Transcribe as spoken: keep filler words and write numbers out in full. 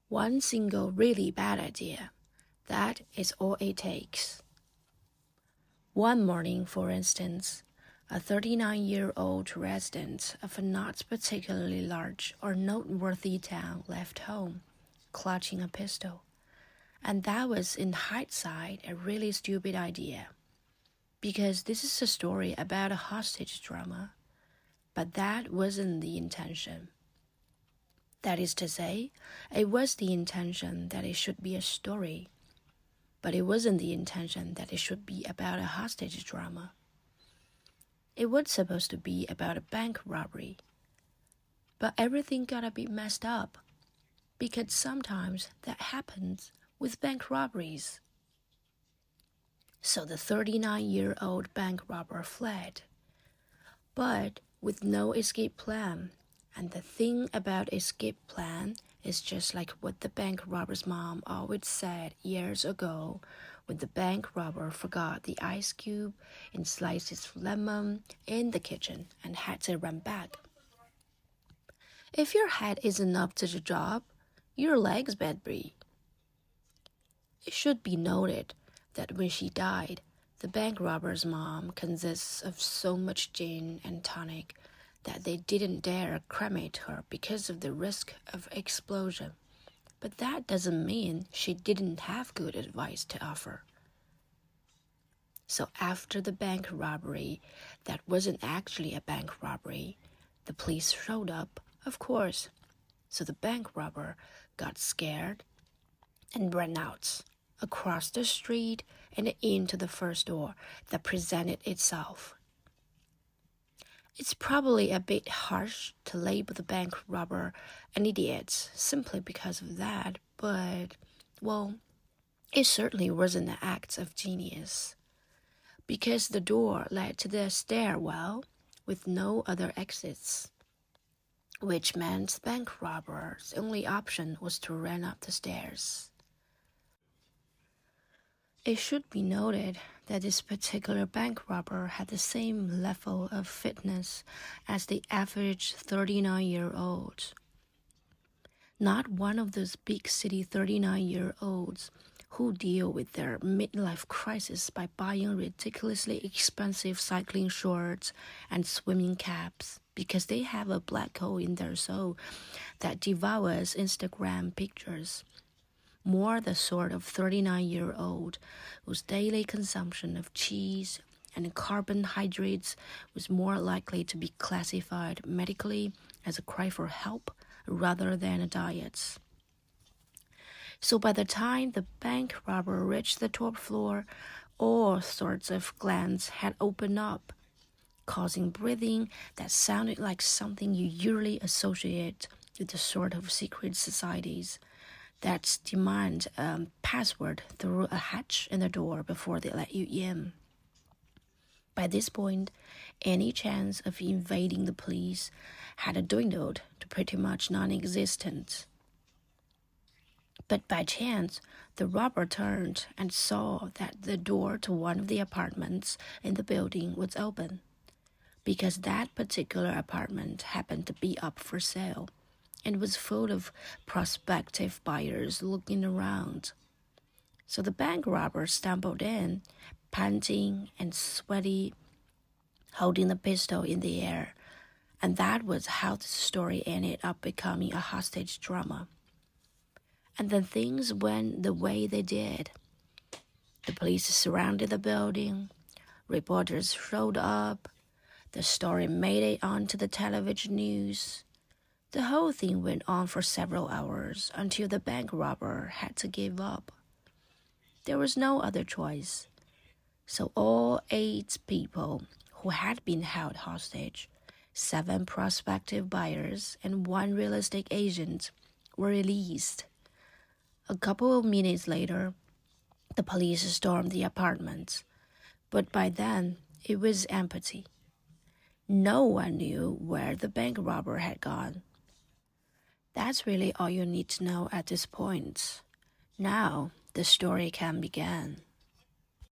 One single really bad idea. That is all it takes. One morning, for instance, a thirty-nine-year-old resident of a not particularly large or noteworthy town left home, clutching a pistol. And that was, in hindsight, a really stupid idea. Because this is a story about a hostage drama. But that wasn't the intention. That is to say, it was the intention that it should be a story. But it wasn't the intention that it should be about a hostage drama. It was supposed to be about a bank robbery. But everything got a bit messed up. Because sometimes that happens with bank robberies. So the thirty-nine-year-old bank robber fled. But with no escape plan. And the thing about escape plan is just like what the bank robber's mom always said years ago when the bank robber forgot the ice cube and sliced his lemon in the kitchen and had to run back. If your head isn't up to the job, your legs better be. It should be noted that when she died, the bank robber's mom consists of so much gin and tonic that they didn't dare cremate her because of the risk of explosion. But that doesn't mean she didn't have good advice to offer. So after the bank robbery, that wasn't actually a bank robbery, the police showed up, of course. So the bank robber got scared and ran out, across the street and into the first door that presented itself. It's probably a bit harsh to label the bank robber an idiot simply because of that, but, well, it certainly wasn't an act of genius. Because the door led to the stairwell with no other exits, which meant the bank robber's only option was to run up the stairs. It should be noted that this particular bank robber had the same level of fitness as the average thirty-nine-year-old. Not one of those big city thirty-nine-year-olds who deal with their midlife crisis by buying ridiculously expensive cycling shorts and swimming caps because they have a black hole in their soul that devours Instagram pictures. More the sort of thirty-nine-year-old whose daily consumption of cheese and carbohydrates was more likely to be classified medically as a cry for help rather than a diet. So by the time the bank robber reached the top floor, all sorts of glands had opened up, causing breathing that sounded like something you usually associate with the sort of secret societies that demand a password through a hatch in the door before they let you in. By this point, any chance of invading the police had dwindled to pretty much non-existent. But by chance, the robber turned and saw that the door to one of the apartments in the building was open, because that particular apartment happened to be up for sale and was full of prospective buyers looking around. So the bank robber stumbled in, panting and sweaty, holding the pistol in the air, and that was how the story ended up becoming a hostage drama. And then things went the way they did. The police surrounded the building, reporters showed up, the story made it onto the television news. The whole thing went on for several hours until the bank robber had to give up. There was no other choice. So all eight people who had been held hostage, seven prospective buyers and one real estate agent, were released. A couple of minutes later, the police stormed the apartment, but by then it was empty. No one knew where the bank robber had gone. That's really all you need to know at this point. Now, the story can begin.